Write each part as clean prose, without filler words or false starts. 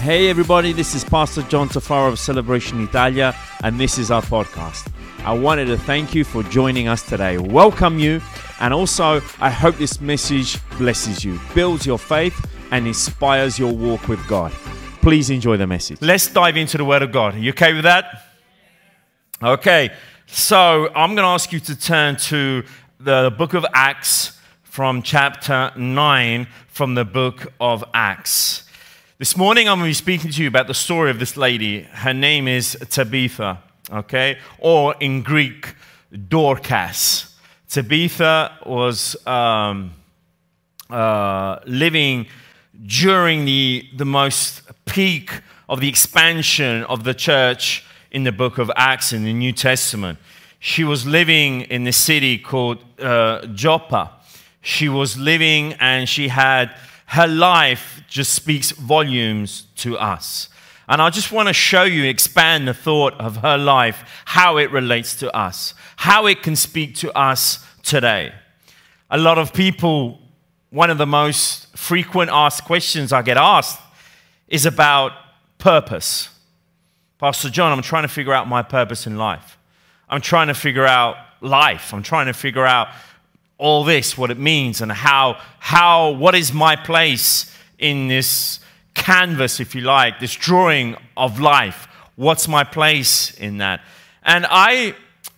Hey everybody, this is Pastor John Tafaro of Celebration Italia, and this is our podcast. I wanted to thank you for joining us today, welcome you, and also I hope this message blesses you, builds your faith, and inspires your walk with God. Please enjoy the message. Let's dive into the Word of God. Are you okay with that? Okay, so I'm going to ask you to turn to the book of Acts from chapter 9 from the book of Acts. This morning I'm going to be speaking to you about the story of this lady. Her name is Tabitha, okay? Or in Greek, Dorcas. Tabitha was living during the most peak of the expansion of the church in the book of Acts in the New Testament. She was living in the city called Joppa. She was living and she had her life just speaks volumes to us. And I just want to show you, expand the thought of her life, how it relates to us, how it can speak to us today. A lot of people, one of the most frequent asked questions I get asked is about purpose. Pastor John, I'm trying to figure out my purpose in life. I'm trying to figure out life. I'm trying to figure out all this, what it means, and what is my place in this canvas, if you like, this drawing of life. What's my place in that? And I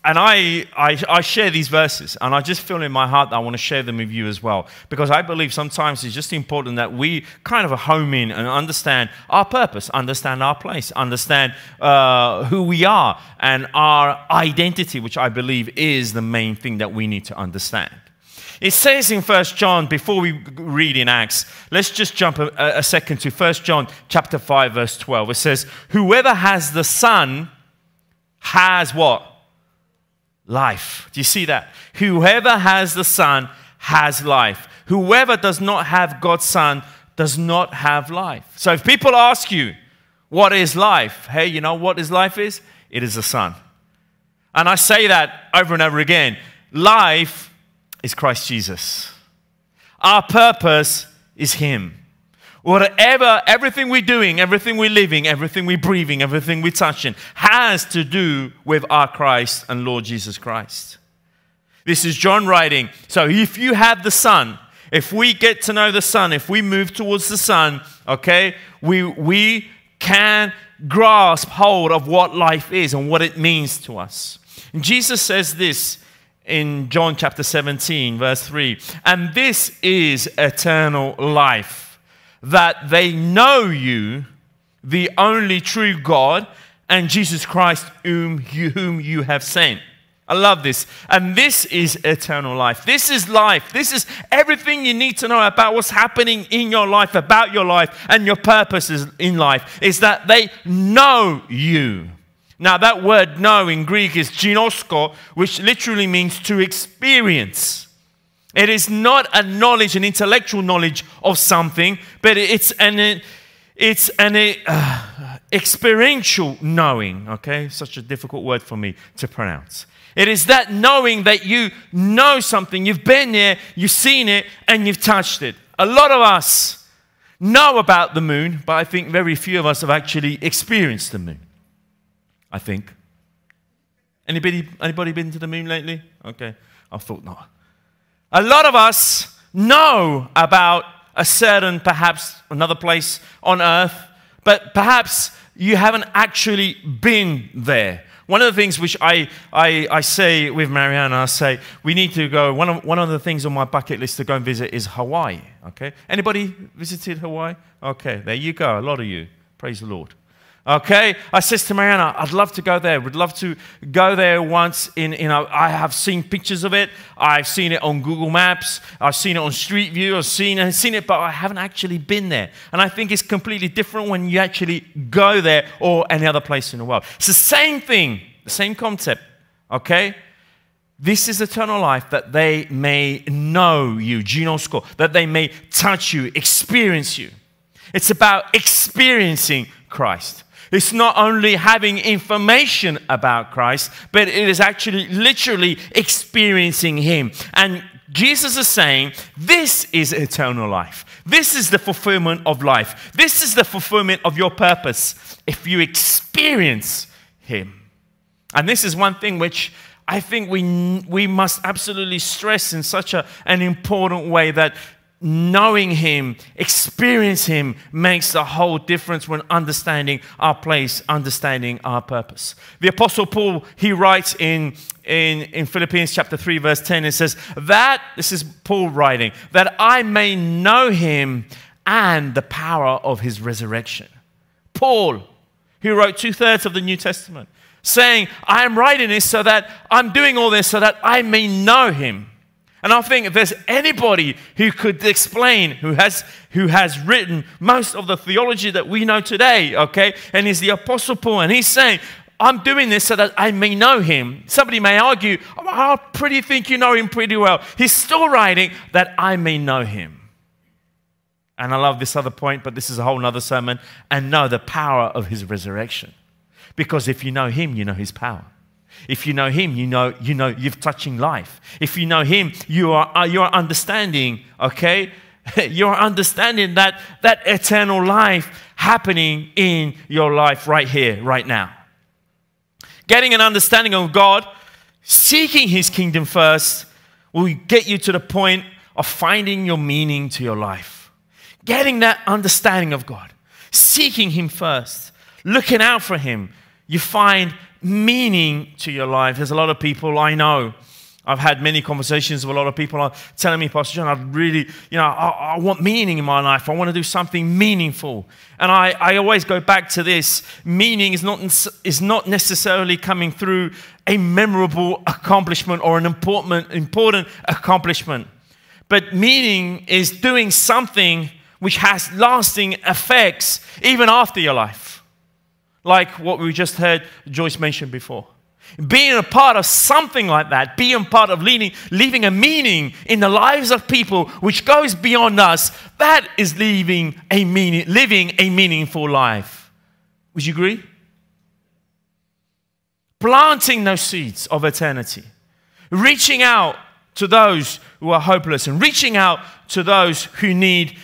share these verses, and I just feel in my heart that I want to share them with you as well, because I believe sometimes it's just important that we kind of home in and understand our purpose, understand our place, understand who we are, and our identity, which I believe is the main thing that we need to understand. It says in 1 John, before we read in Acts, let's just jump a second to 1 John chapter 5, verse 12. It says, whoever has the Son has what? Life. Do you see that? Whoever has the Son has life. Whoever does not have God's Son does not have life. So if people ask you, what is life? Hey, you know what life is? It is the Son. And I say that over and over again. Life is Christ Jesus. Our purpose is Him. Whatever, everything we're doing, everything we're living, everything we're breathing, everything we're touching has to do with our Christ and Lord Jesus Christ. This is John writing. So if you have the Son, if we get to know the Son, if we move towards the Son, okay, we can grasp hold of what life is and what it means to us. And Jesus says this in John chapter 17, verse 3, and this is eternal life, that they know you, the only true God, and Jesus Christ whom you have sent. I love this. And this is eternal life. This is life. This is everything you need to know about what's happening in your life, about your life, and your purposes in life, is that they know you. Now, that word know in Greek is ginosko, which literally means to experience. It is not a knowledge, an intellectual knowledge of something, but it's an experiential knowing, okay? Such a difficult word for me to pronounce. It is that knowing that you know something, you've been there, you've seen it, and you've touched it. A lot of us know about the moon, but I think very few of us have actually experienced the moon. I think. Anybody been to the moon lately? Okay, I thought not. A lot of us know about a certain, perhaps another place on earth, but perhaps you haven't actually been there. One of the things which I say with Mariana, I say, we need to go, one of the things on my bucket list to go and visit is Hawaii, okay? Anybody visited Hawaii? Okay, there you go, a lot of you. Praise the Lord. Okay, I says to Mariana, I'd love to go there. Would love to go there once. I have seen pictures of it. I've seen it on Google Maps. I've seen it on Street View. I've seen it, but I haven't actually been there. And I think it's completely different when you actually go there or any other place in the world. It's the same thing, the same concept. Okay, this is eternal life, that they may know you, ginosko, that they may touch you, experience you. It's about experiencing Christ. It's not only having information about Christ, but it is actually literally experiencing Him. And Jesus is saying, this is eternal life. This is the fulfillment of life. This is the fulfillment of your purpose if you experience Him. And this is one thing which I think we must absolutely stress in such an important way, that knowing Him, experience Him, makes the whole difference when understanding our place, understanding our purpose. The Apostle Paul, he writes in Philippians chapter 3, verse 10, it says, this is Paul writing, that I may know Him and the power of His resurrection. Paul, who wrote 2/3 of the New Testament, saying, I am writing this so that I'm doing all this so that I may know Him. And I think if there's anybody who could explain, who has written most of the theology that we know today, okay, and is the Apostle Paul, and he's saying, I'm doing this so that I may know Him. Somebody may argue, I pretty think you know Him pretty well. He's still writing that I may know Him. And I love this other point, but this is a whole other sermon, and know the power of His resurrection. Because if you know Him, you know His power. If you know Him, you know you're touching life. If you know Him, you're understanding, okay? You're understanding that eternal life happening in your life right here, right now. Getting an understanding of God, seeking His kingdom first, will get you to the point of finding your meaning to your life. Getting that understanding of God, seeking Him first, looking out for Him, you find meaning to your life. There's a lot of people I know. I've had many conversations with a lot of people telling me, Pastor John, I really, I want meaning in my life. I want to do something meaningful. And I always go back to this. Meaning is not necessarily coming through a memorable accomplishment or an important accomplishment. But meaning is doing something which has lasting effects even after your life. Like what we just heard Joyce mention before. Being a part of something like that, being part of leaving a meaning in the lives of people which goes beyond us, that is living a meaningful life. Would you agree? Planting those seeds of eternity. Reaching out to those who are hopeless and reaching out to those who need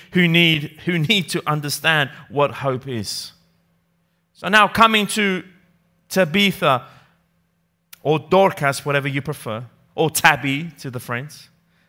to understand what hope is. So now coming to Tabitha, or Dorcas, whatever you prefer, or Tabby to the friends.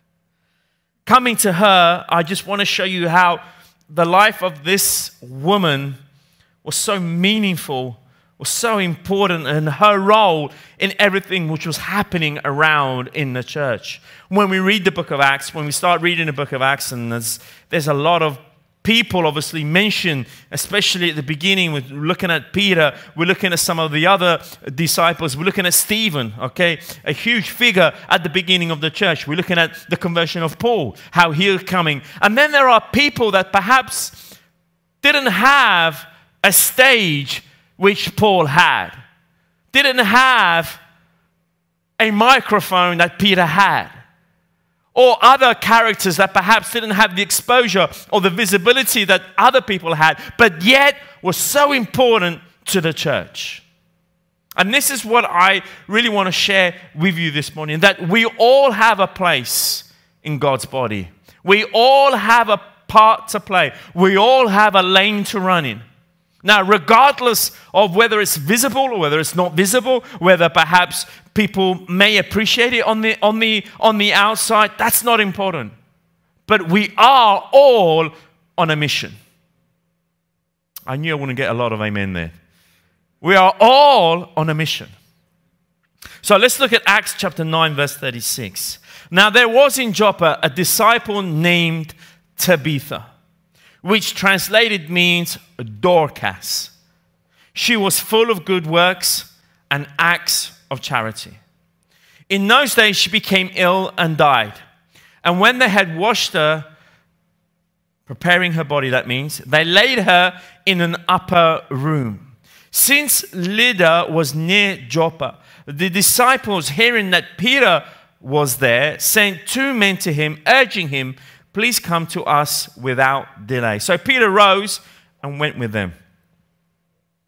Coming to her, I just want to show you how the life of this woman was so meaningful, was so important, and her role in everything which was happening around in the church. When we read the book of Acts, when we start reading the book of Acts, and there's a lot of people obviously mentioned, especially at the beginning. We're looking at Peter, we're looking at some of the other disciples, we're looking at Stephen, okay, a huge figure at the beginning of the church. We're looking at the conversion of Paul, how he's coming. And then there are people that perhaps didn't have a stage which Paul had, didn't have a microphone that Peter had, or other characters that perhaps didn't have the exposure or the visibility that other people had, but yet were so important to the church. And this is what I really want to share with you this morning, that we all have a place in God's body. We all have a part to play. We all have a lane to run in. Now, regardless of whether it's visible or whether it's not visible, whether perhaps people may appreciate it on the outside, that's not important. But we are all on a mission. I knew I wouldn't get a lot of amen there. We are all on a mission. So let's look at Acts chapter 9, verse 36. Now there was in Joppa a disciple named Tabitha, which translated means Dorcas. She was full of good works and acts of charity. In those days she became ill and died. And when they had washed her, preparing her body, that means, they laid her in an upper room. Since Lydda was near Joppa, the disciples, hearing that Peter was there, sent 2 men to him, urging him, please come to us without delay. So Peter rose and went with them.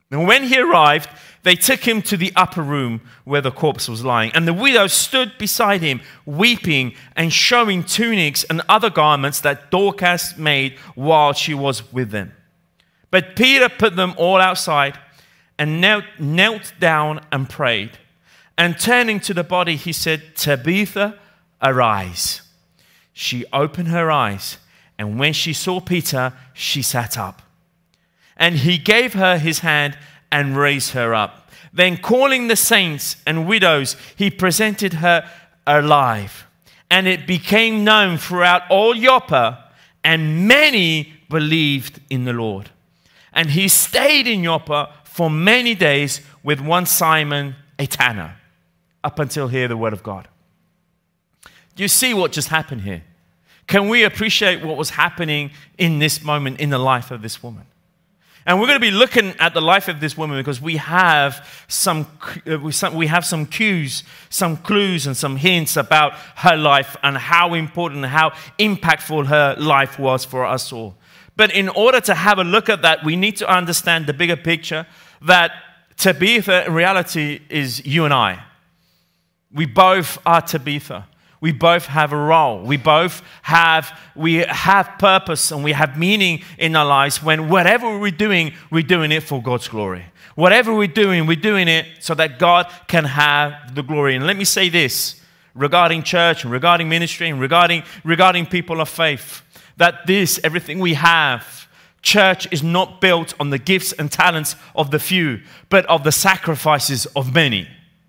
And when he arrived, they took him to the upper room where the corpse was lying. And the widow stood beside him, weeping and showing tunics and other garments that Dorcas made while she was with them. But Peter put them all outside and knelt down and prayed. And turning to the body, he said, "Tabitha, arise." She opened her eyes, and when she saw Peter, she sat up. And he gave her his hand and raised her up. Then calling the saints and widows, he presented her alive. And it became known throughout all Joppa, and many believed in the Lord. And he stayed in Joppa for many days with one Simon, a tanner. Up until here, the word of God. Do you see what just happened here? Can we appreciate what was happening in this moment in the life of this woman? And we're going to be looking at the life of this woman because we have some cues, some clues, and some hints about her life and how important, how impactful her life was for us all. But in order to have a look at that, we need to understand the bigger picture that Tabitha in reality is you and I. We both are Tabitha. We both have a role. We have purpose and we have meaning in our lives when whatever we're doing it for God's glory. Whatever we're doing it so that God can have the glory. And let me say this regarding church and regarding ministry and regarding people of faith, that everything we have, church is not built on the gifts and talents of the few, but of the sacrifices of many.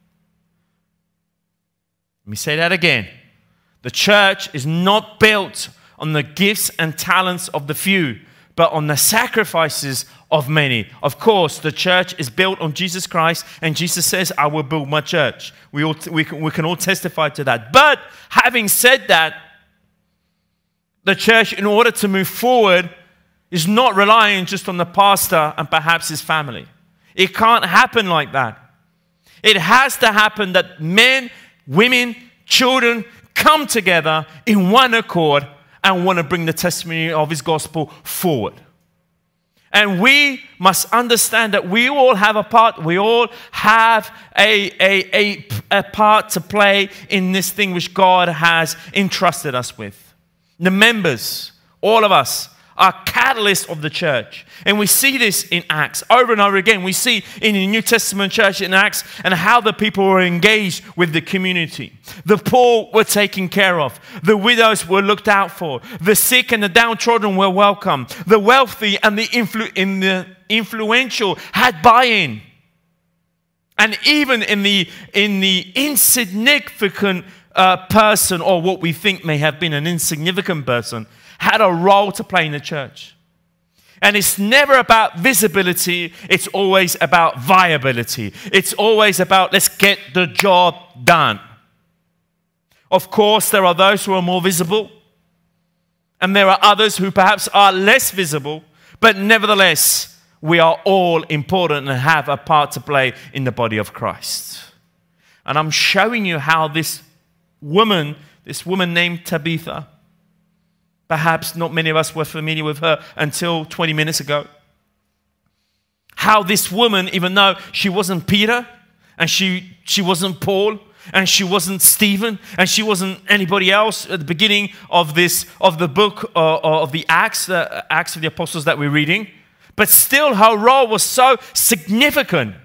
Let me say that again. The church is not built on the gifts and talents of the few, but on the sacrifices of many. Of course, the church is built on Jesus Christ, and Jesus says, "I will build my church." We can all testify to that. But having said that, the church, in order to move forward, is not relying just on the pastor and perhaps his family. It can't happen like that. It has to happen that men, women, children come together in one accord and want to bring the testimony of his gospel forward. And we must understand that we all have a part. We all have a part to play in this thing which God has entrusted us with. The members, all of us, are catalysts of the church. And we see this in Acts over and over again. We see in the New Testament church in Acts and how the people were engaged with the community. The poor were taken care of. The widows were looked out for. The sick and the downtrodden were welcome. The wealthy and the influential had buy-in. And even in the insignificant person, or what we think may have been an insignificant person, had a role to play in the church. And it's never about visibility, it's always about viability. It's always about let's get the job done. Of course, there are those who are more visible, and there are others who perhaps are less visible, but nevertheless, we are all important and have a part to play in the body of Christ. And I'm showing you how this woman named Tabitha, perhaps not many of us were familiar with her until 20 minutes ago. How this woman, even though she wasn't Peter, and she wasn't Paul, and she wasn't Stephen, and she wasn't anybody else at the beginning of the book of the Acts of the Apostles that we're reading, but still her role was so significant.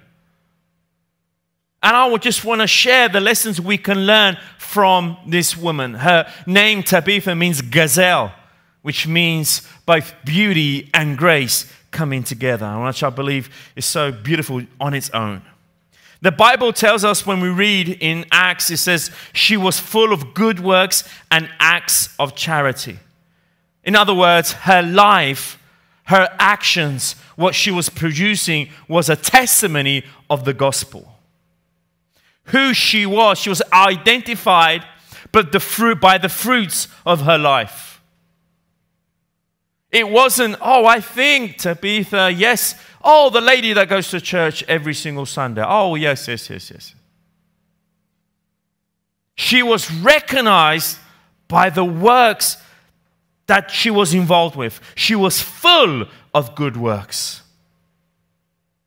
And I would just want to share the lessons we can learn from this woman. Her name, Tabitha, means gazelle, which means both beauty and grace coming together, which I believe is so beautiful on its own. The Bible tells us when we read in Acts, it says, she was full of good works and acts of charity. In other words, her life, her actions, what she was producing was a testimony of the gospel. Who she was identified by the fruits of her life. It wasn't, I think Tabitha, yes, the lady that goes to church every single Sunday. Yes. She was recognized by the works that she was involved with. She was full of good works.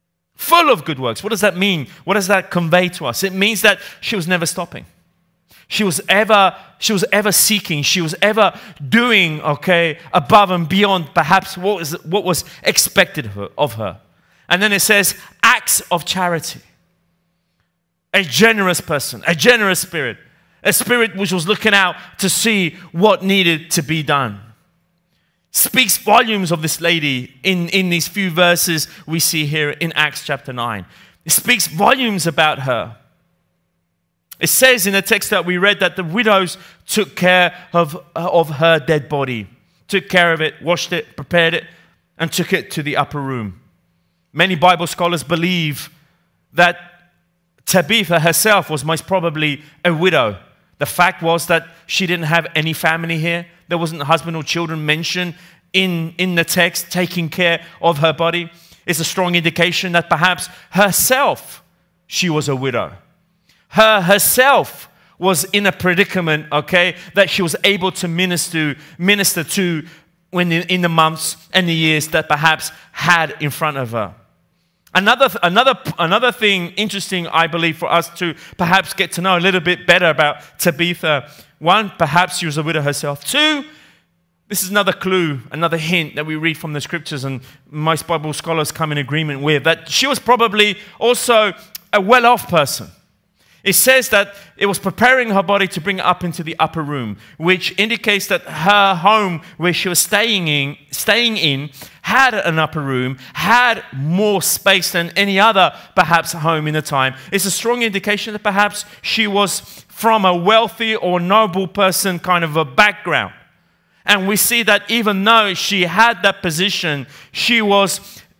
full of good works. What does that mean? What does that convey to us? It means that she was never stopping. She was ever seeking. She was ever doing, above and beyond perhaps what was expected of her. And then it says, acts of charity. A generous person, a generous spirit. A spirit which was looking out to see what needed to be done. Speaks volumes of this lady in these few verses we see here in Acts chapter 9. It speaks volumes about her. It says in the text that we read that the widows took care of her dead body. Took care of it, washed it, prepared it, and took it to the upper room. Many Bible scholars believe that Tabitha herself was most probably a widow. The fact was that she didn't have any family here. There wasn't a husband or children mentioned in the text taking care of her body. It's a strong indication that perhaps herself, she was a widow. Herself was in a predicament, that she was able to minister to when in the months and the years that perhaps had in front of her. Another thing interesting, I believe, for us to perhaps get to know a little bit better about Tabitha. One, perhaps she was a widow herself. Two, this is another clue, another hint that we read from the scriptures, and most Bible scholars come in agreement with, that she was probably also a well-off person. It says that it was preparing her body to bring it up into the upper room, which indicates that her home where she was staying in had an upper room, had more space than any other perhaps home in the time. It's a strong indication that perhaps she was from a wealthy or noble person kind of a background. And we see that even though she had that position, she was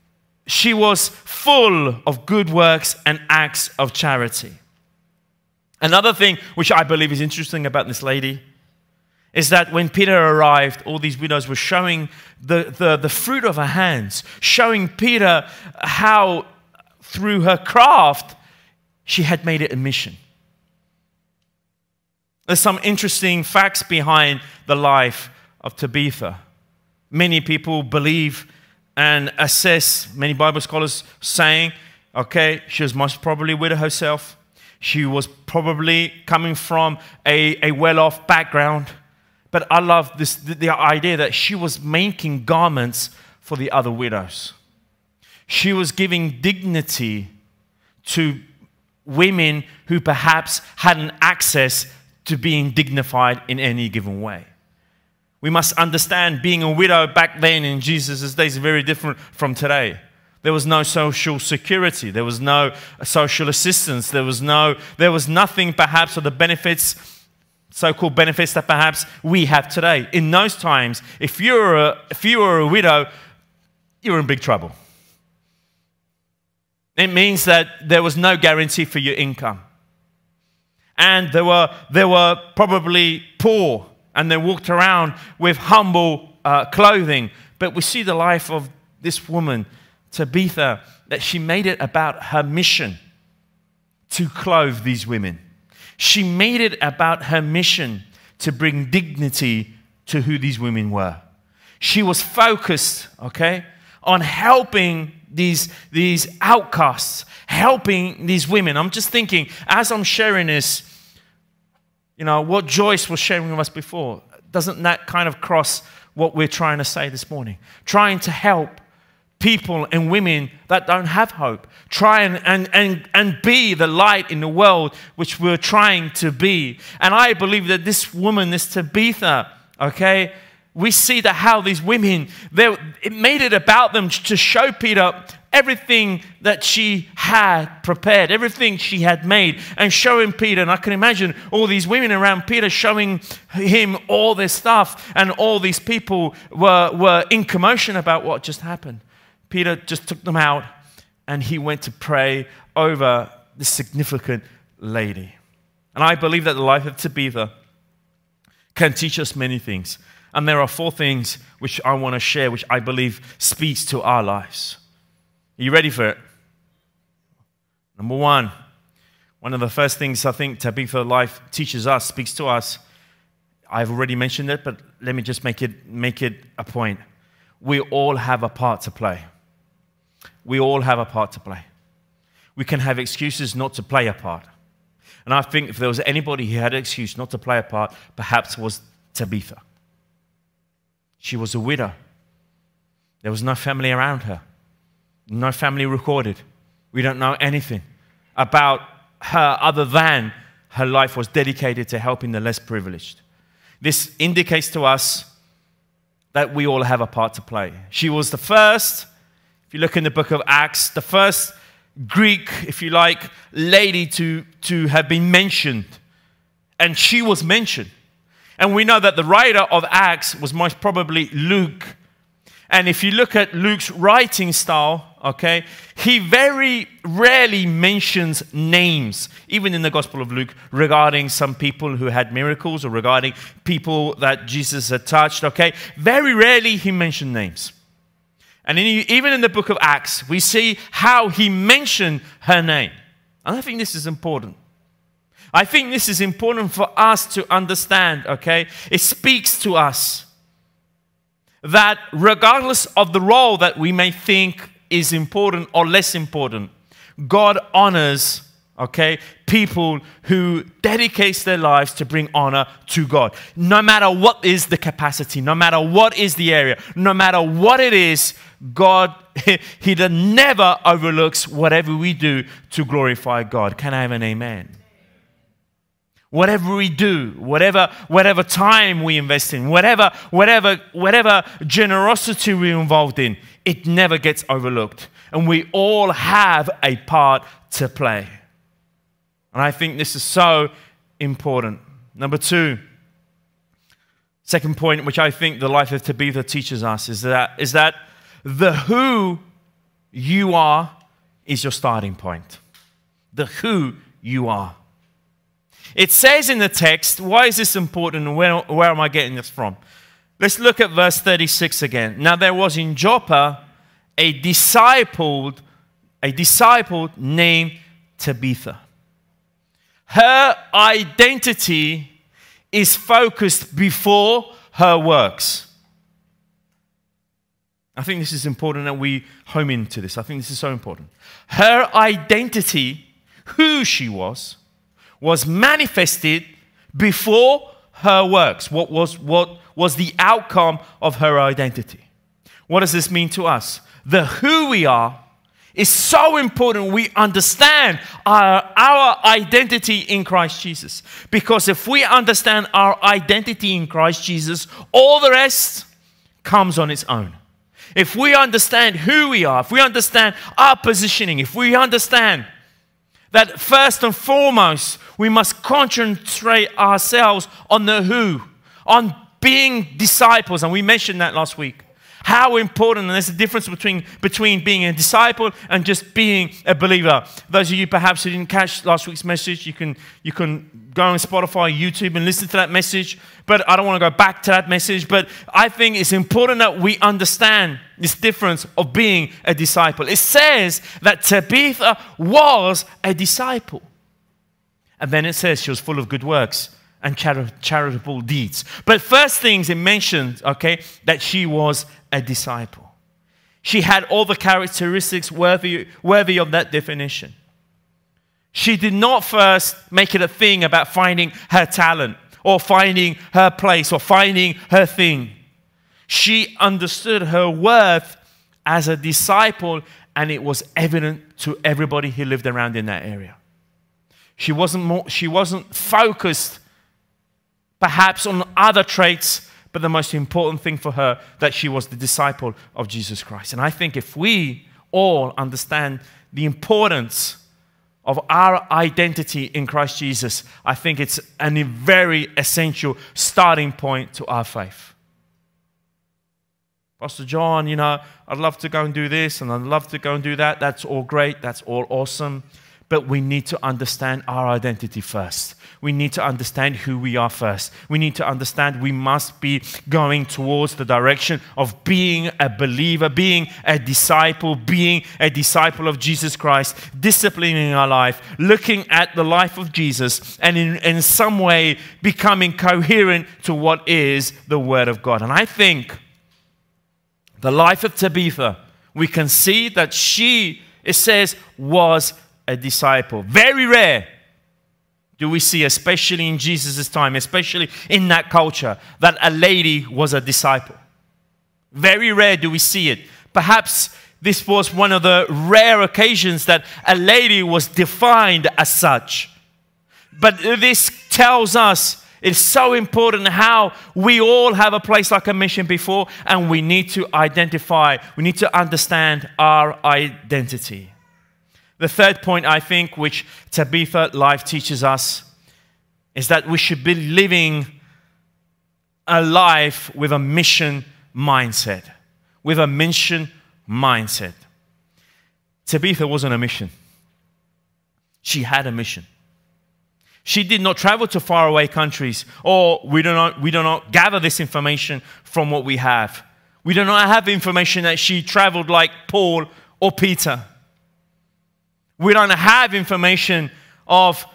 full of good works and acts of charity. Another thing which I believe is interesting about this lady is that when Peter arrived, all these widows were showing the fruit of her hands, showing Peter how through her craft she had made it a mission. There's some interesting facts behind the life of Tabitha. Many people believe and assess, many Bible scholars saying, she was most probably a widow herself. She was probably coming from a well-off background. But I love the idea that she was making garments for the other widows. She was giving dignity to women who perhaps hadn't access to being dignified in any given way. We must understand being a widow back then in Jesus' days is very different from today. There was no social security. There was no social assistance. There was nothing perhaps of the benefits, so-called benefits that perhaps we have today. In those times, if you were a widow, you were in big trouble. It means that there was no guarantee for your income. And they were probably poor, and they walked around with humble clothing. But we see the life of this woman, Tabitha, that she made it about her mission to clothe these women. She made it about her mission to bring dignity to who these women were. She was focused, on helping these outcasts, helping these women. I'm just thinking, as I'm sharing this, what Joyce was sharing with us before, doesn't that kind of cross what we're trying to say this morning? Trying to help people and women that don't have hope. Try and be the light in the world which we're trying to be. And I believe that this woman, this Tabitha, we see that how these women, it made it about them to show Peter everything that she had prepared, everything she had made, and showing Peter. And I can imagine all these women around Peter showing him all this stuff, and all these people were in commotion about what just happened. Peter just took them out, and he went to pray over this significant lady. And I believe that the life of Tabitha can teach us many things. And there are 4 things which I want to share, which I believe speaks to our lives. Are you ready for it? Number 1, one of the first things I think Tabitha's life teaches us, speaks to us. I've already mentioned it, but let me just make it a point. We all have a part to play. We all have a part to play. We can have excuses not to play a part. And I think if there was anybody who had an excuse not to play a part, perhaps it was Tabitha. She was a widow. There was no family around her. No family recorded. We don't know anything about her other than her life was dedicated to helping the less privileged. This indicates to us that we all have a part to play. She was the first, if you look in the book of Acts, the first Greek, if you like, lady to have been mentioned. And she was mentioned. And we know that the writer of Acts was most probably Luke. And if you look at Luke's writing style, okay, he very rarely mentions names, even in the Gospel of Luke, regarding some people who had miracles or regarding people that Jesus had touched, okay. Very rarely he mentioned names. And even in the book of Acts, we see how he mentioned her name. And I think this is important. I think this is important for us to understand, okay? It speaks to us that regardless of the role that we may think is important or less important, God honors, okay, people who dedicate their lives to bring honor to God. No matter what is the capacity, no matter what is the area, no matter what it is, God, He never overlooks whatever we do to glorify God. Can I have an amen? Whatever we do, whatever time we invest in, whatever generosity we're involved in, it never gets overlooked. And we all have a part to play. And I think this is so important. Number two, second point, which I think the life of Tabitha teaches us, is that the who you are is your starting point. The who you are. It says in the text, why is this important and where am I getting this from? Let's look at verse 36 again. Now there was in Joppa a disciple named Tabitha. Her identity is focused before her works. I think this is important that we home into this. I think this is so important. Her identity, who she was manifested before her works. What was the outcome of her identity? What does this mean to us? The who we are is so important we understand our identity in Christ Jesus. Because if we understand our identity in Christ Jesus, all the rest comes on its own. If we understand who we are, if we understand our positioning, if we understand that first and foremost, we must concentrate ourselves on the who, on being disciples. And we mentioned that last week. How important, and there's a difference between being a disciple and just being a believer. Those of you perhaps who didn't catch last week's message, you can go on Spotify, YouTube, and listen to that message. But I don't want to go back to that message. But I think it's important that we understand this difference of being a disciple. It says that Tabitha was a disciple. And then it says she was full of good works and charitable deeds. But first things it mentioned, okay, that she was a disciple. She had all the characteristics worthy of that definition. She did not first make it a thing about finding her talent or finding her place or finding her thing. She understood her worth as a disciple, and it was evident to everybody who lived around in that area. She wasn't focused perhaps on other traits, but the most important thing for her, that she was the disciple of Jesus Christ. And I think if we all understand the importance of our identity in Christ Jesus, I think it's a very essential starting point to our faith. Pastor John, I'd love to go and do this and I'd love to go and do that. That's all great. That's all awesome. But we need to understand our identity first. We need to understand who we are first. We need to understand we must be going towards the direction of being a believer, being a disciple of Jesus Christ, disciplining our life, looking at the life of Jesus, and in some way becoming coherent to what is the Word of God. And I think the life of Tabitha, we can see that she, it says, was a disciple. Very rare do we see, especially in Jesus' time, especially in that culture, that a lady was a disciple. Very rare do we see it. Perhaps this was one of the rare occasions that a lady was defined as such. But this tells us it's so important how we all have a place like a mission before, and we need to identify, we need to understand our identity. The third point, I think, which Tabitha life teaches us, is that we should be living a life with a mission mindset. With a mission mindset. Tabitha was on a mission. She had a mission. She did not travel to faraway countries, or we do not gather this information from what we have. We do not have information that she traveled like Paul or Peter. We don't have information of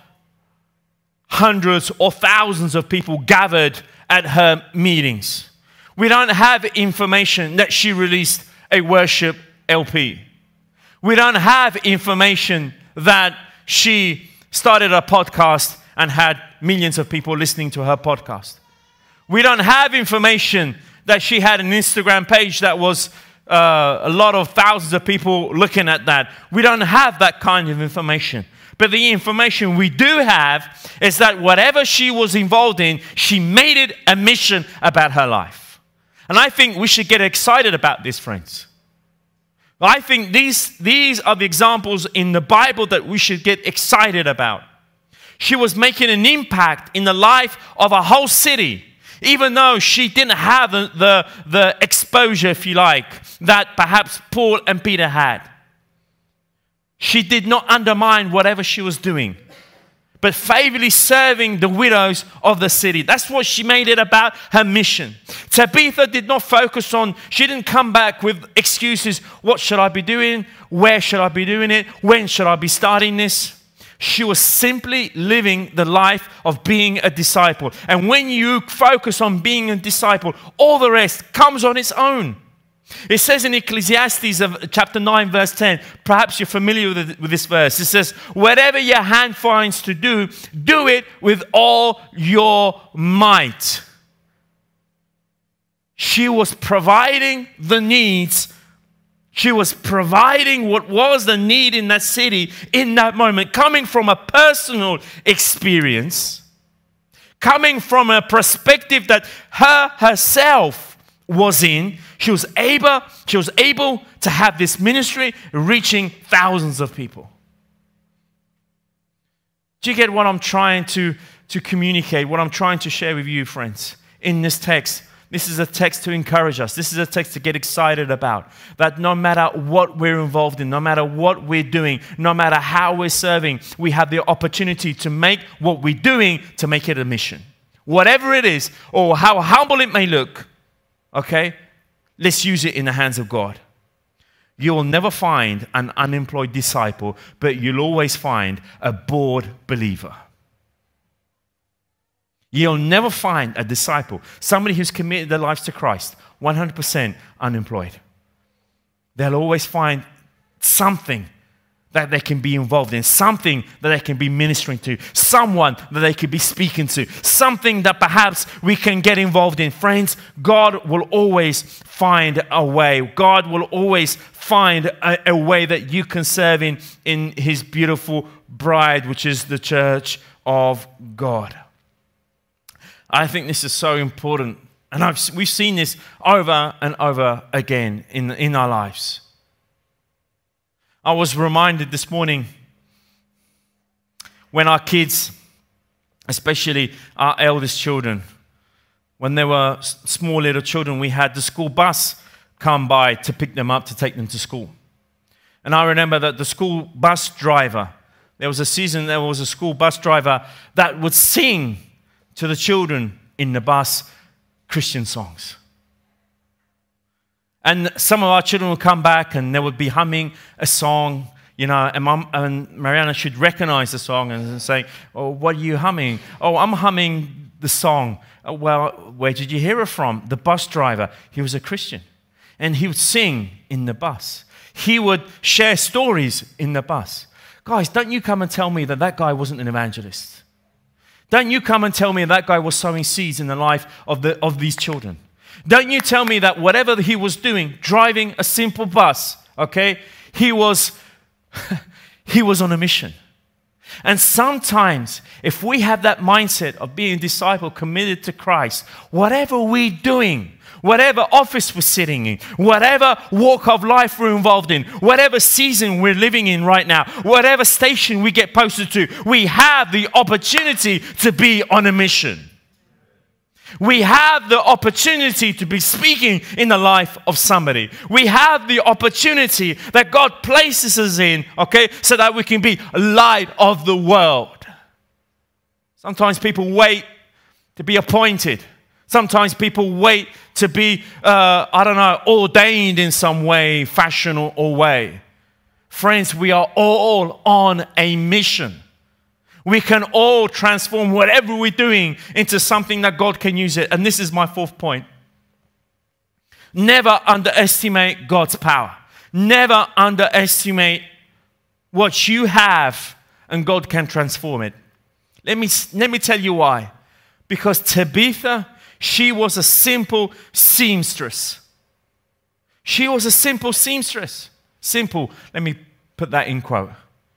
hundreds or thousands of people gathered at her meetings. We don't have information that she released a worship LP. We don't have information that she started a podcast and had millions of people listening to her podcast. We don't have information that she had an Instagram page that was a lot of thousands of people looking at that. We don't have that kind of information. But the information we do have is that whatever she was involved in, she made it a mission about her life. And I think we should get excited about this, friends. I think these are the examples in the Bible that we should get excited about. She was making an impact in the life of a whole city, even though she didn't have the exposure, if you like, that perhaps Paul and Peter had. She did not undermine whatever she was doing, but faithfully serving the widows of the city. That's what she made it about, her mission. Tabitha did not focus on, she didn't come back with excuses. What should I be doing? Where should I be doing it? When should I be starting this? She was simply living the life of being a disciple. And when you focus on being a disciple, all the rest comes on its own. It says in Ecclesiastes of chapter 9, verse 10, perhaps you're familiar with this verse. It says, whatever your hand finds to do, do it with all your might. She was providing the needs. She was providing what was the need in that city in that moment, coming from a personal experience, coming from a perspective that herself was in. She was able to have this ministry reaching thousands of people. Do you get what I'm trying to communicate, what I'm trying to share with you, friends, in this text? This is a text to encourage us. This is a text to get excited about. That no matter what we're involved in, no matter what we're doing, no matter how we're serving, we have the opportunity to make what we're doing, to make it a mission. Whatever it is, or how humble it may look, okay? Let's use it in the hands of God. You will never find an unemployed disciple, but you'll always find a bored believer. You'll never find a disciple, somebody who's committed their lives to Christ, 100% unemployed. They'll always find something that they can be involved in, something that they can be ministering to, someone that they could be speaking to, something that perhaps we can get involved in. Friends, God will always find a way. God will always find a way that you can serve in His beautiful bride, which is the church of God. I think this is so important, and we've seen this over and over again in our lives. I was reminded this morning when our kids, especially our eldest children, when they were small little children, we had the school bus come by to pick them up, to take them to school. And I remember that the school bus driver, there was a school bus driver that would sing to the children in the bus Christian songs. And some of our children would come back and they would be humming a song, and Mariana should recognize the song and say, "Oh, what are you humming?" "Oh, I'm humming the song." "Oh, well, where did you hear it from?" "The bus driver. He was a Christian." And he would sing in the bus. He would share stories in the bus. Guys, don't you come and tell me that guy wasn't an evangelist. Don't you come and tell me that guy was sowing seeds in the life of these children. Don't you tell me that whatever he was doing, driving a simple bus, okay, he was on a mission. And sometimes, if we have that mindset of being a disciple committed to Christ, whatever we're doing, whatever office we're sitting in, whatever walk of life we're involved in, whatever season we're living in right now, whatever station we get posted to, we have the opportunity to be on a mission. We have the opportunity to be speaking in the life of somebody. We have the opportunity that God places us in, okay, so that we can be a light of the world. Sometimes people wait to be appointed. Sometimes people wait to be, ordained in some way, fashion or way. Friends, we are all on a mission. We can all transform whatever we're doing into something that God can use it. And this is my fourth point. Never underestimate God's power. Never underestimate what you have and God can transform it. Let me tell you why. Because Tabitha, she was a simple seamstress. She was a simple seamstress. Simple. Let me put that in quote.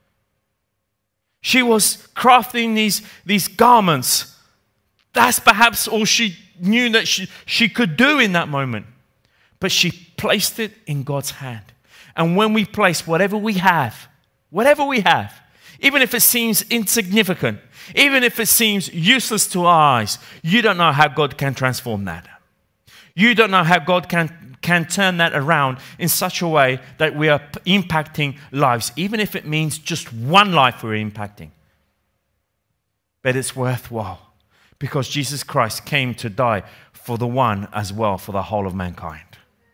She was crafting these garments. That's perhaps all she knew that she could do in that moment. But she placed it in God's hand. And when we place whatever we have, even if it seems insignificant, even if it seems useless to our eyes, you don't know how God can transform that. You don't know how God can turn that around in such a way that we are impacting lives, even if it means just one life we're impacting. But it's worthwhile because Jesus Christ came to die for the one as well, for the whole of mankind.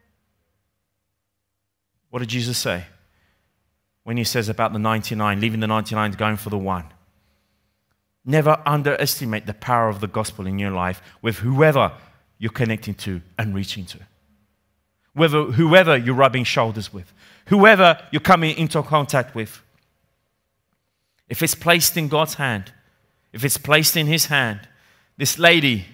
What did Jesus say when he says about the 99, leaving the 99 going for the one? Never underestimate the power of the gospel in your life with whoever you're connecting to and reaching to. Whoever you're rubbing shoulders with, whoever you're coming into contact with. If it's placed in God's hand, if it's placed in His hand, this lady,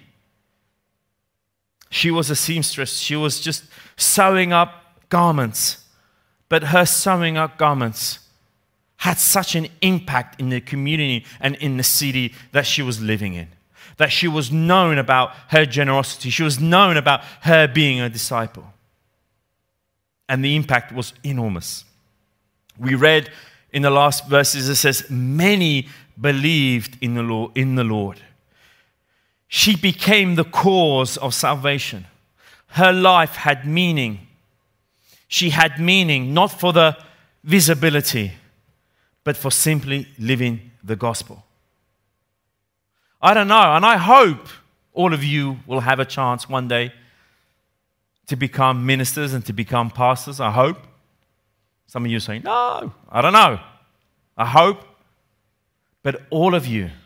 she was a seamstress. She was just sewing up garments. But her sewing up garments had such an impact in the community and in the city that she was living in. That she was known about her generosity. She was known about her being a disciple. And the impact was enormous. We read in the last verses, it says, many believed in the Lord. She became the cause of salvation. Her life had meaning. She had meaning not for the visibility, but for simply living the gospel. I don't know, and I hope all of you will have a chance one day to become ministers and to become pastors, I hope. Some of you are saying, no, I don't know. I hope. But all of you,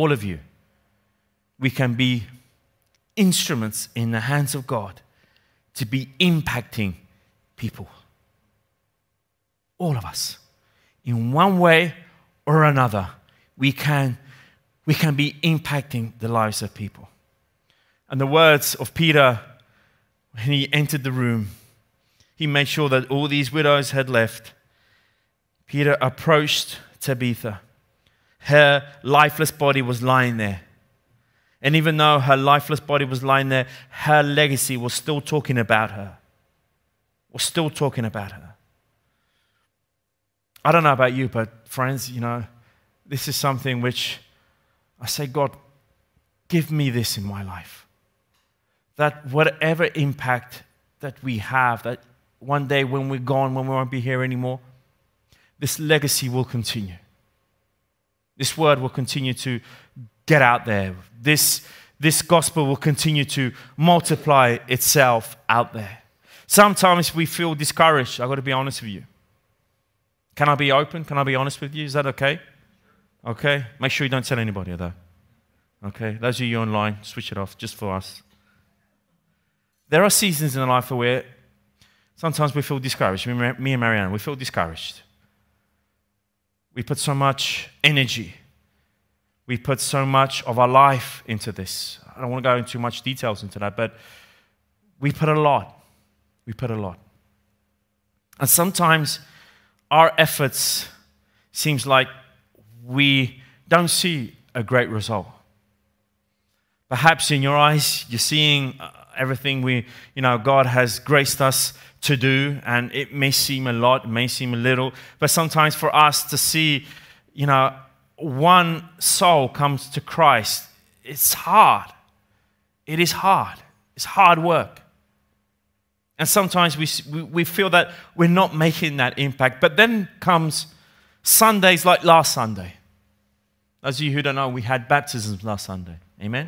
we can be instruments in the hands of God to be impacting people. All of us. In one way or another, we can be impacting the lives of people. And the words of Peter, when he entered the room, he made sure that all these widows had left. Peter approached Tabitha. Her lifeless body was lying there. And even though her lifeless body was lying there, her legacy was still talking about her. I don't know about you, but friends, this is something which I say, God, give me this in my life. That whatever impact that we have, that one day when we're gone, when we won't be here anymore, this legacy will continue. This word will continue to get out there. This gospel will continue to multiply itself out there. Sometimes we feel discouraged. I've got to be honest with you. Can I be open? Can I be honest with you? Is that okay? Okay. Make sure you don't tell anybody, though. Okay. Those of you online, switch it off just for us. There are seasons in life where sometimes we feel discouraged. Me and Marianne, we feel discouraged. We put so much energy. We put so much of our life into this. I don't want to go into much details into that, but we put a lot. We put a lot. And sometimes our efforts seems like we don't see a great result. Perhaps in your eyes, you're seeing everything God has graced us to do, and it may seem a lot, it may seem a little, but sometimes for us to see, one soul comes to Christ, it's hard. It is hard. It's hard work. And sometimes we feel that we're not making that impact. But then comes Sundays like last Sunday. Those of you who don't know, we had baptisms last Sunday. Amen?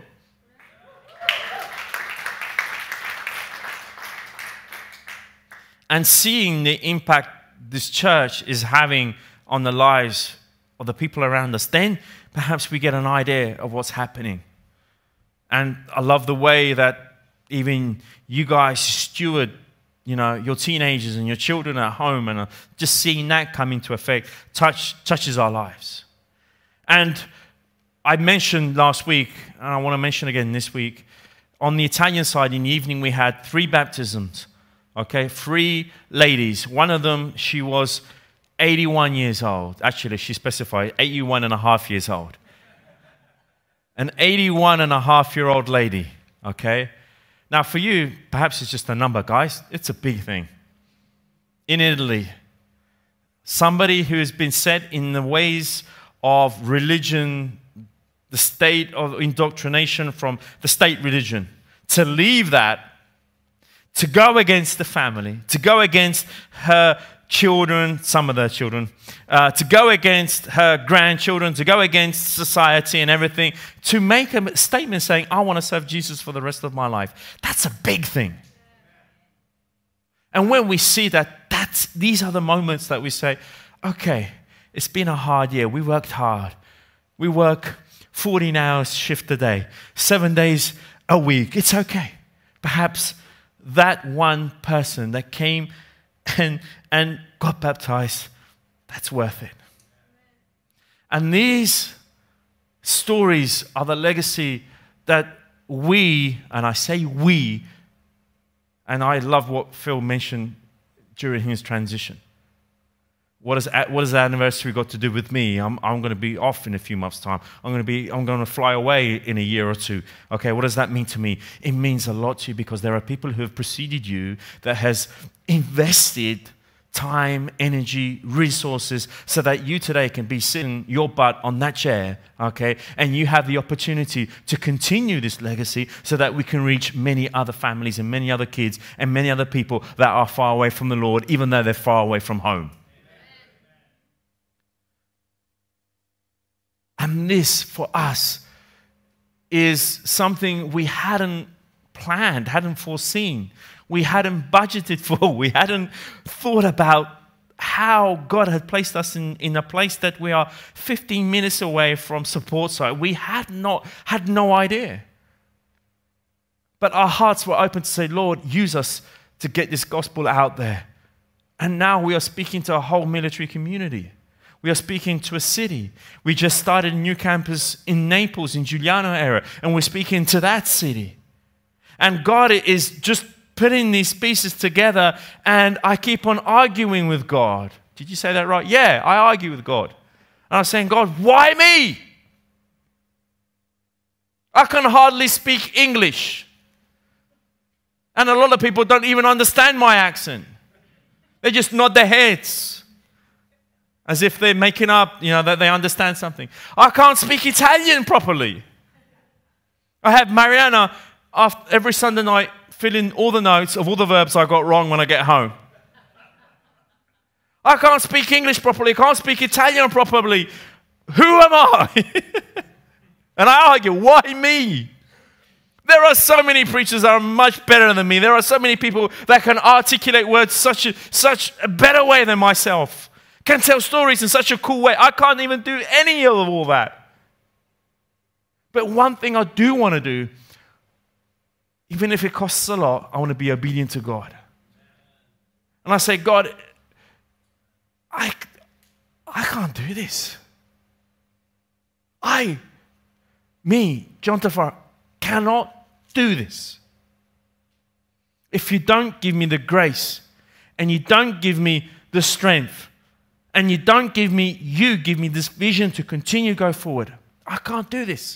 And seeing the impact this church is having on the lives of the people around us, then perhaps we get an idea of what's happening. And I love the way that even you guys steward, your teenagers and your children at home, and just seeing that come into effect touches our lives. And I mentioned last week, and I want to mention again this week, on the Italian side in the evening we had 3 baptisms. Okay, 3 ladies. One of them, she was 81 years old. Actually, she specified 81 and a half years old. An 81 and a half-year-old lady, okay? Now, for you, perhaps it's just a number, guys. It's a big thing. In Italy, somebody who has been set in the ways of religion, the state of indoctrination from the state religion, to leave that, to go against the family, to go against her children, some of their children, to go against her grandchildren, to go against society and everything, to make a statement saying, I want to serve Jesus for the rest of my life. That's a big thing. And when we see that, these are the moments that we say, okay, it's been a hard year. We worked hard. We work 14 hours shift a day, 7 days a week. It's okay. Perhaps that one person that came and got baptized, that's worth it. And these stories are the legacy that we, and I say we, and I love what Phil mentioned during his transition. What has the anniversary got to do with me? I'm going to be off in a few months' time. I'm going to fly away in a year or two. Okay, what does that mean to me? It means a lot to you because there are people who have preceded you that has invested time, energy, resources, so that you today can be sitting your butt on that chair, okay, and you have the opportunity to continue this legacy so that we can reach many other families and many other kids and many other people that are far away from the Lord, even though they're far away from home. And this, for us, is something we hadn't planned, hadn't foreseen. We hadn't budgeted for. We hadn't thought about how God had placed us in a place that we are 15 minutes away from support site. We had no idea. But our hearts were open to say, Lord, use us to get this gospel out there. And now we are speaking to a whole military community. We are speaking to a city. We just started a new campus in Naples, in Giuliano area, and we're speaking to that city. And God is just putting these pieces together, and I keep on arguing with God. Did you say that right? Yeah, I argue with God. And I'm saying, God, why me? I can hardly speak English. And a lot of people don't even understand my accent. They just nod their heads as if they're making up, that they understand something. I can't speak Italian properly. I have Mariana every Sunday night fill in all the notes of all the verbs I got wrong when I get home. I can't speak English properly. I can't speak Italian properly. Who am I? And I argue, why me? There are so many preachers that are much better than me. There are so many people that can articulate words such a better way than myself. Can tell stories in such a cool way. I can't even do any of all that. But one thing I do want to do, even if it costs a lot, I want to be obedient to God. And I say, God, I can't do this. John Tafaro, cannot do this. If you don't give me the grace, and you don't give me the strength, and you give me this vision to continue to go forward, I can't do this.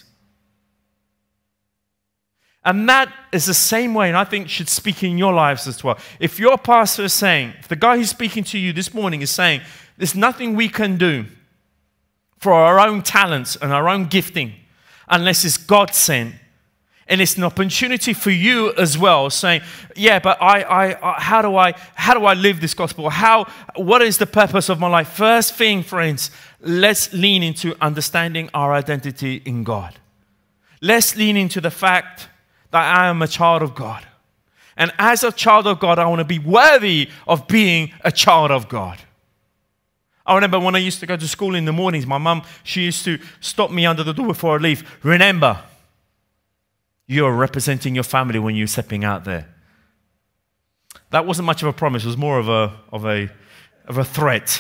And that is the same way, and I think should speak in your lives as well. If your pastor is saying, if the guy who's speaking to you this morning is saying, there's nothing we can do for our own talents and our own gifting unless it's God sent, and it's an opportunity for you as well, saying, yeah, but how do I live this gospel? What is the purpose of my life? First thing, friends, let's lean into understanding our identity in God. Let's lean into the fact that I am a child of God. And as a child of God, I want to be worthy of being a child of God. I remember when I used to go to school in the mornings, my mum, she used to stop me under the door before I leave. Remember, you're representing your family when you're stepping out there. That wasn't much of a promise. It was more of a threat.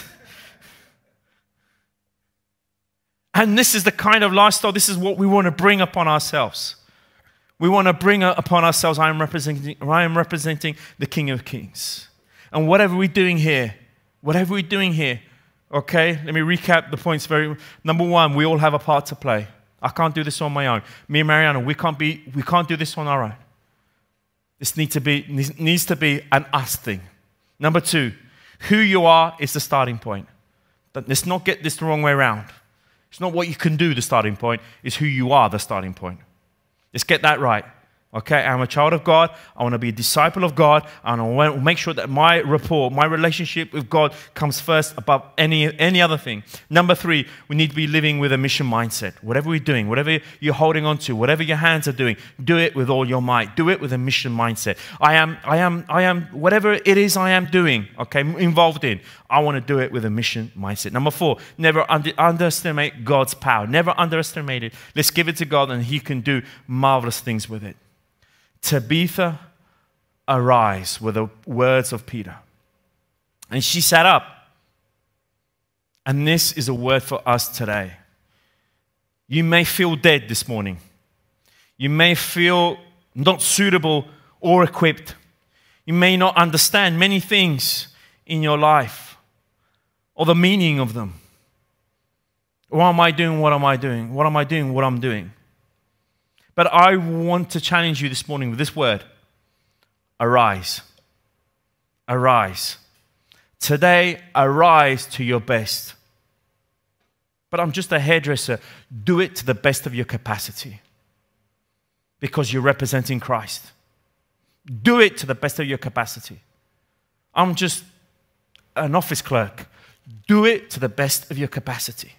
And this is the kind of lifestyle, this is what we want to bring upon ourselves. We want to bring upon ourselves, I am representing the King of Kings. And whatever we're doing here, okay, let me recap the points number one, we all have a part to play. I can't do this on my own. Me and Mariana, we can't do this on our own. This needs to be an us thing. Number two, who you are is the starting point. Let's not get this the wrong way around. It's not what you can do, the starting point. It's who you are, the starting point. Let's get that right. Okay, I'm a child of God. I want to be a disciple of God. And I want to make sure that my rapport, my relationship with God comes first above any other thing. Number three, we need to be living with a mission mindset. Whatever we're doing, whatever you're holding on to, whatever your hands are doing, do it with all your might. Do it with a mission mindset. I am, whatever it is I am doing, okay, involved in, I want to do it with a mission mindset. Number four, never underestimate God's power. Never underestimate it. Let's give it to God and He can do marvelous things with it. Tabitha, arise, were the words of Peter. And she sat up. And this is a word for us today. You may feel dead this morning. You may feel not suitable or equipped. You may not understand many things in your life or the meaning of them. Why am I doing what am I doing? What am I doing what I'm doing? But I want to challenge you this morning with this word. Arise. Arise. Today, arise to your best. But I'm just a hairdresser. Do it to the best of your capacity. Because you're representing Christ. Do it to the best of your capacity. I'm just an office clerk. Do it to the best of your capacity.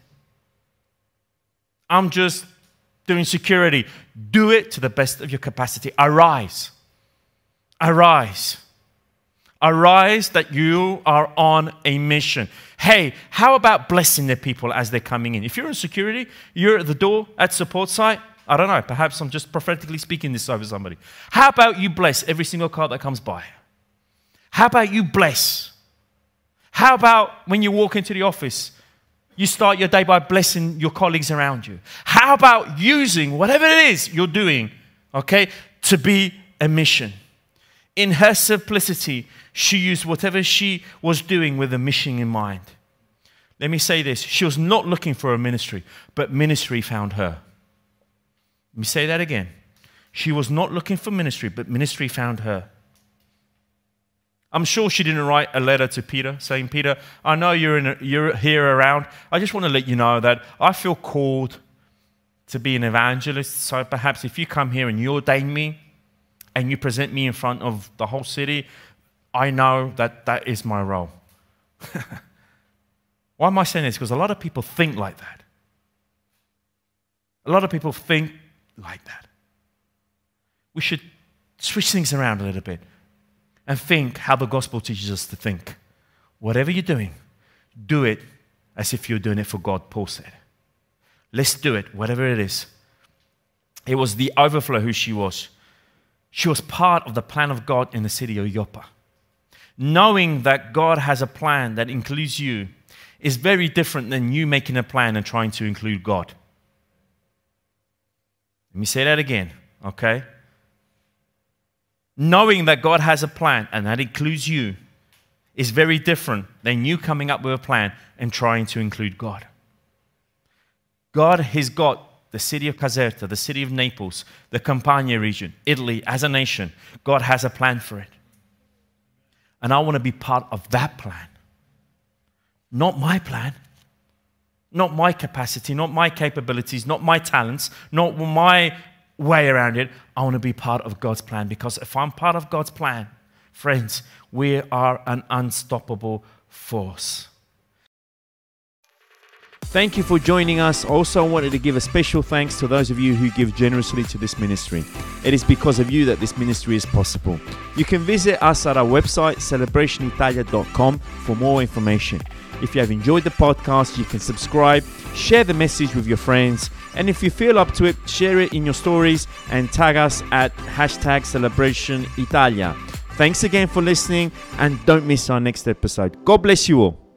I'm just doing security. Do it to the best of your capacity. Arise. Arise. Arise that you are on a mission. Hey, how about blessing the people as they're coming in? If you're in security, you're at the door at support site, I don't know, perhaps I'm just prophetically speaking this over somebody. How about you bless every single car that comes by? How about you bless? How about when you walk into the office, you start your day by blessing your colleagues around you? How about using whatever it is you're doing, okay, to be a mission? In her simplicity, she used whatever she was doing with a mission in mind. Let me say this. She was not looking for a ministry, but ministry found her. Let me say that again. She was not looking for ministry, but ministry found her. I'm sure she didn't write a letter to Peter saying, Peter, I know you're here around. I just want to let you know that I feel called to be an evangelist. So perhaps if you come here and you ordain me and you present me in front of the whole city, I know that that is my role. Why am I saying this? Because a lot of people think like that. A lot of people think like that. We should switch things around a little bit and think how the gospel teaches us to think. Whatever you're doing, do it as if you're doing it for God, Paul said. Let's do it, whatever it is. It was the overflow who she was. She was part of the plan of God in the city of Joppa. Knowing that God has a plan that includes you, is very different than you making a plan and trying to include God. Let me say that again, okay? Knowing that God has a plan and that includes you is very different than you coming up with a plan and trying to include God. God has got the city of Caserta, the city of Naples, the Campania region, Italy as a nation. God has a plan for it. And I want to be part of that plan. Not my plan. Not my capacity, not my capabilities, not my talents, not my way around it. I want to be part of God's plan, because if I'm part of God's plan, friends, we are an unstoppable force. Thank you for joining us. Also, I wanted to give a special thanks to those of you who give generously to this ministry. It is because of you that this ministry is possible. You can visit us at our website, celebrationitalia.com, for more information. If you have enjoyed the podcast, you can subscribe, share the message with your friends, and if you feel up to it, share it in your stories and tag us at #CelebrationItalia. Thanks again for listening, and don't miss our next episode. God bless you all.